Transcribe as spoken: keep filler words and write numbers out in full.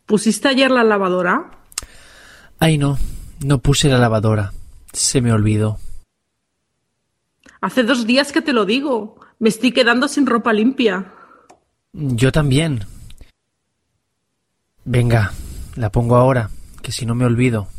¿Pusiste ayer la lavadora? Ay, no, no puse la lavadora. Se me olvidó. Hace dos días que te lo digo. Me estoy quedando sin ropa limpia. Yo también. Venga, la pongo ahora, que si no me olvido.